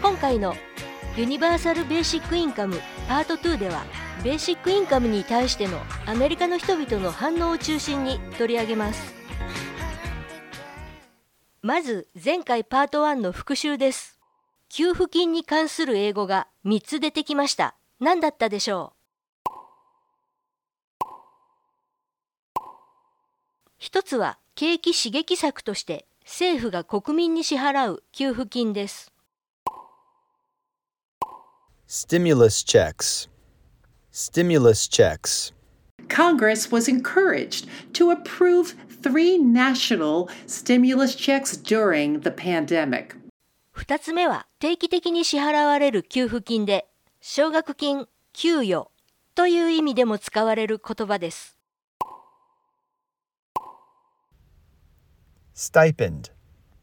今回のユニバーサル・ベーシック・インカムパート2では、ベーシック・インカムに対してのアメリカの人々の反応を中心に取り上げます。まず前回パート1の復習です。給付金に関する英語が3つ出てきました。何だったでしょう。一つは景気刺激策として政府が国民に支払う給付金です。 Stimulus checks. Stimulus checks. Congress was encouraged to approve 3 national stimulus checks during the pandemic. 2つ目は定期的に支払われる給付金で、奨学金、給与という意味でも使われる言葉です。 Stipend.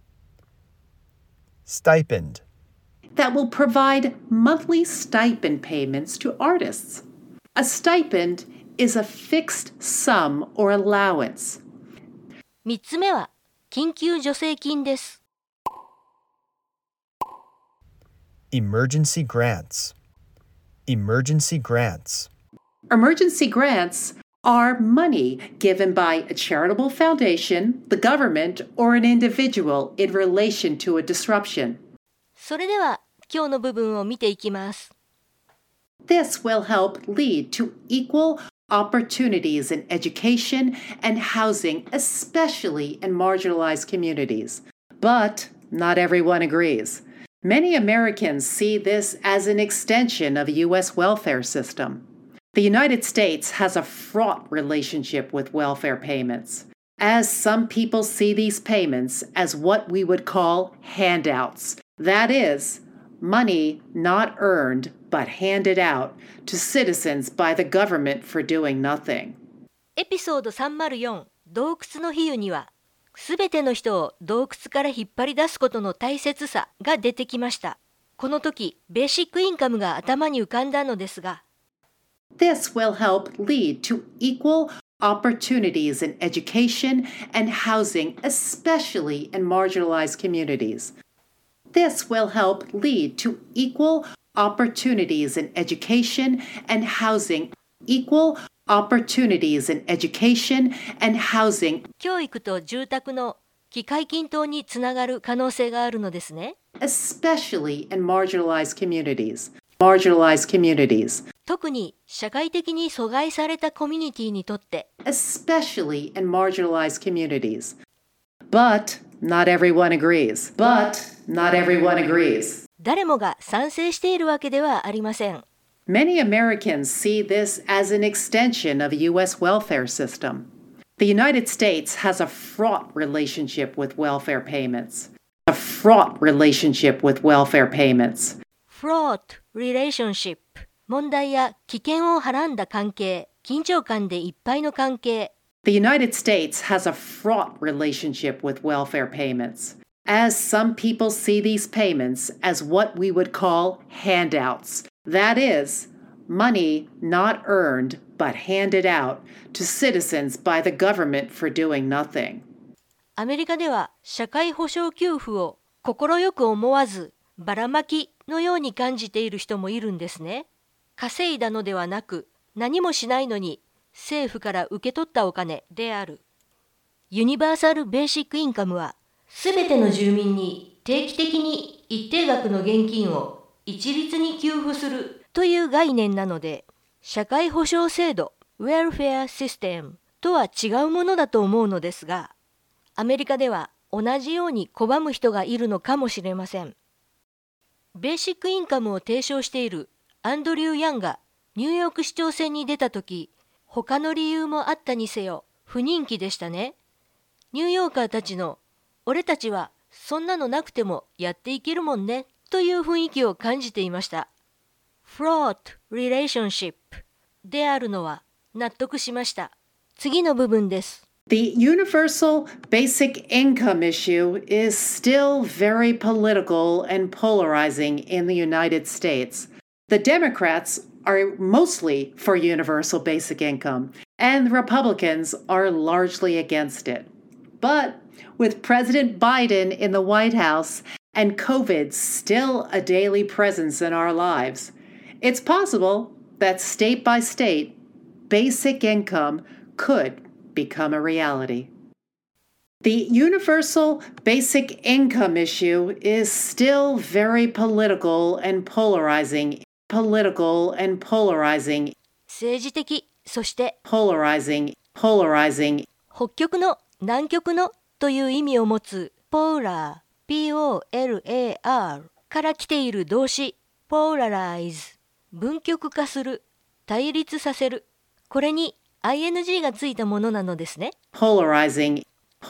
Stipend. That will provide monthly stipend payments to artists. A stipend is a fixed sum or allowance. 3つ目は緊急助成金です。 Emergency grants. Emergency grants. Emergency grants are money given by a charitable foundation, the government, or an individual in relation to a disruption. それでは今日の部分を見ていきます。 This will help lead to equal opportunities in education and housing, especially in marginalized communities. But not everyone agrees. Many Americans see this as an extension of the U.S. welfare system. The United States has a fraught relationship with welfare payments, as some people see these payments as what we would call handouts. That is, money not earned but handed out to citizens by the government for doing nothing. エピソード304洞窟の比喩には、すべての人を洞窟から引っ張り出すことの大切さが出てきました。この時、ベーシックインカムが頭に浮かんだのですが、 This will help lead to equal opportunities in education and housing, especially in marginalized communities. This will help lead to equal opportunities in education and housing, equal opportunities in education and housing, 教育と住宅の機会均等につながる可能性があるのですね。 especially in marginalized communities. Marginalized communities. 特に社会的に阻害されたコミュニティにとって、 especially in marginalized communities. But not everyone agrees. But not everyone agrees. 誰もが賛成しているわけではありません。 Many Americans see this as an extension of the U.S. welfare system. The United States has a fraught relationship with welfare payments. A fraught relationship with welfare payments. fraught relationship 問題や危険をはらんだ関係、緊張感でいっぱいの関係。 The United States has a fraught relationship with welfare payments, as some people see these payments as what we would call handouts. That is, money not earned but handed out to citizens by the government for doing nothing. アメリカでは社会保障給付を快く思わずばらまきのように感じている人もいるんですね。稼いだのではなく、何もしないのに政府から受け取ったお金である。ユニバーサル・ベーシック・インカムは、すべての住民に定期的に一定額の現金を一律に給付するという概念なので、社会保障制度、ウェルフェアシステムとは違うものだと思うのですが、アメリカでは同じように拒む人がいるのかもしれません。ベーシックインカムを提唱しているアンドリュー・ヤンがニューヨーク市長選に出たとき、他の理由もあったにせよ不人気でしたね。ニューヨーカーたちの俺たちはそんなのなくてもやっていけるもんねという雰囲気を感じていました。fraught relationship であるのは納得しました。次の部分です。 The universal basic income issue is still very political and polarizing in the United States. The Democrats are mostly for universal basic income, and the Republicans are largely against it. But with President Biden in the White House and COVID's still a daily presence in our lives, it's possible that state by state, basic income could become a reality. The universal basic income issue is still very political and polarizing. 政治的、そして polarizing 北極の南極のという意味を持つポーラー POLAR から来ている動詞 polarize 分極化する、対立させる、これに ing がついたものなのですね。 polarizing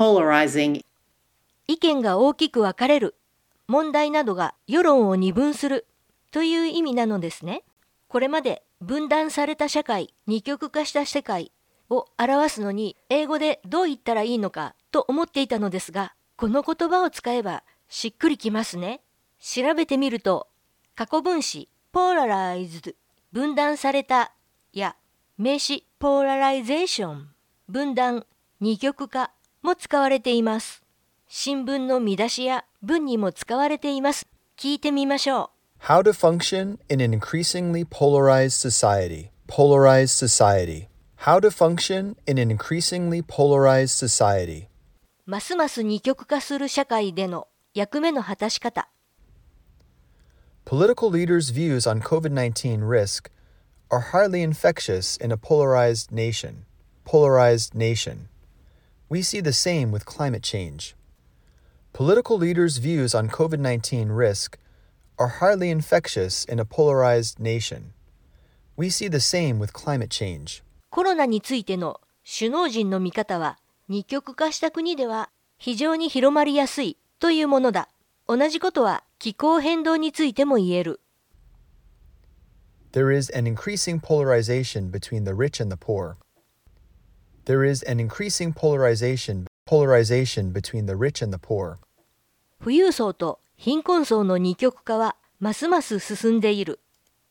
意見が大きく分かれる、問題などが世論を二分するという意味なのですね。これまで分断された社会、二極化した世界を表すのに英語でどう言ったらいいのかと思っていたのですが、この言葉を使えばしっくりきますね。調べてみると、過去分詞 polarized 分断されたや名詞 polarization 分断、二極化も使われています。新聞の見出しや文にも使われています。聞いてみましょう。 How to function in an increasingly polarized society. Polarized society. How to function in an increasingly polarized society. ますます二極化する社会での役目の果たし方。 Political leaders' views on COVID-19 risk are highly infectious in a polarized nation. Polarized nation. We see the same with climate change. Political leaders' views on COVID-19 risk are highly infectious in a polarized nation. We see the same with climate change. コロナについての首脳陣の見方は二極化した国では非常に広まりやすいというものだ。同じことは気候変動についても言える。 There is an increasing polarization between the rich and the poor. There is an increasing polarization between the rich and the poor. 富裕層と貧困層の二極化はますます進んでいる。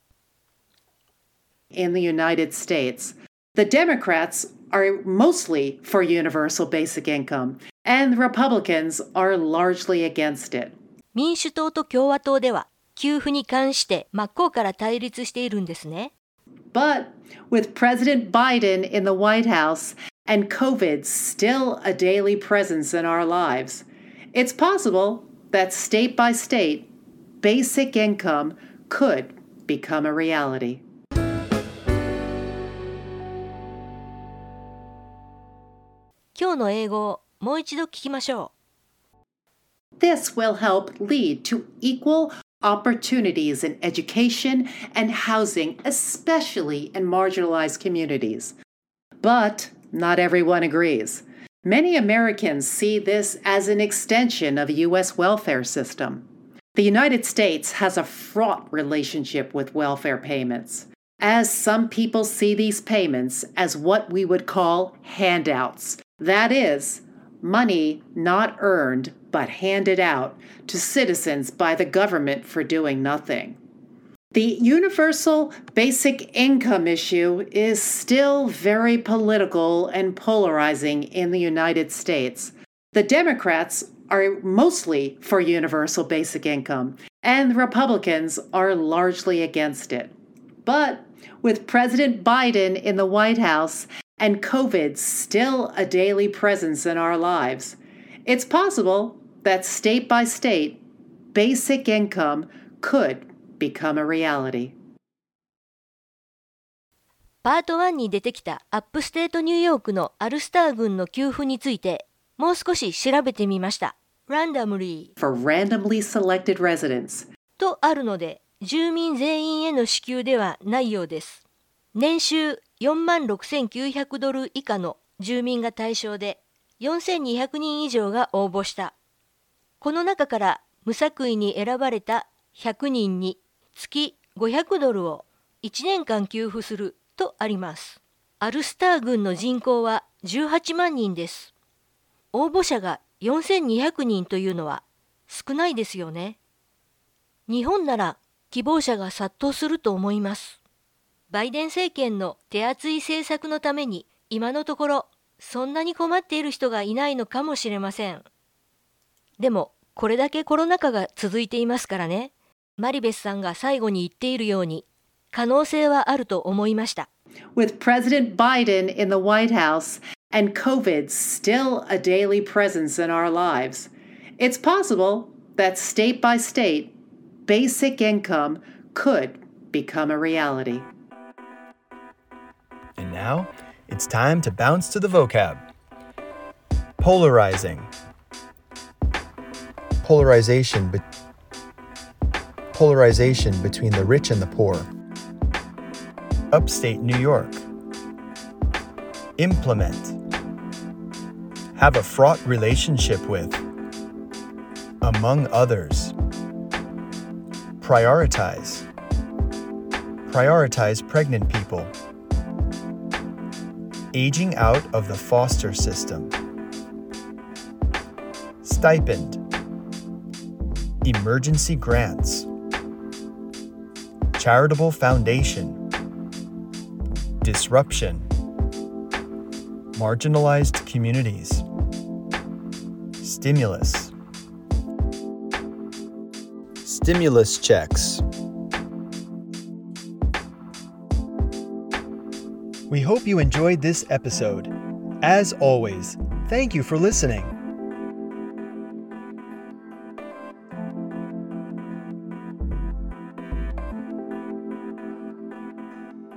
In the United States, the Democrats are mostly for universal basic income, and the Republicans are largely against it. 民主党と共和党では給付に関して真っ向から対立しているんですね。 But with President Biden in the White House and COVID still a daily presence in our lives, it's possible that state by state, basic income could become a reality. 今日の英語をもう一度聞きましょう。 This will help lead to equal opportunities in education and housing, especially in marginalized communities. But not everyone agrees. Many Americans see this as an extension of the U.S. welfare system. The United States has a fraught relationship with welfare payments, as some people see these payments as what we would call handouts. That is, money not earned but handed out to citizens by the government for doing nothing. The universal basic income issue is still very political and polarizing in the United States. The Democrats are mostly for universal basic income, and the Republicans are largely against it. But with President Biden in the White House and COVID still a daily presence in our lives, it's possible that state by state, basic income could become a reality. パート1に出てきたアップステートニューヨークのアルスター郡の給付についてもう少し調べてみました。randomly For randomly selected residents. とあるので住民全員への支給ではないようです。年収$46,900以下の住民が対象で4200人以上が応募した。この中から無作為に選ばれた100人に月$500を1年間給付するとあります。アルスター郡の人口は18万人です。応募者が4200人というのは少ないですよね。日本なら希望者が殺到すると思います。バイデン政権の手厚い政策のために今のところそんなに困っている人がいないのかもしれません。でもこれだけコロナ禍が続いていますからね。マリベスさんが最後に言っているように、可能性はあると思いました。 With President Biden in the White House and COVID still a daily presence in our lives, it's possible that state by state, basic income could become a reality. And now, it's time to bounce to the vocab. Polarizing. Polarization between the rich and the poor. Upstate New York. Implement. Have a fraught relationship with. Among others. Prioritize. Prioritize pregnant people. Aging out of the foster system. Stipend. Emergency grants. Charitable foundation. Disruption. Marginalized communities. Stimulus. Stimulus checks. We hope you enjoyed this episode. As always, thank you for listening.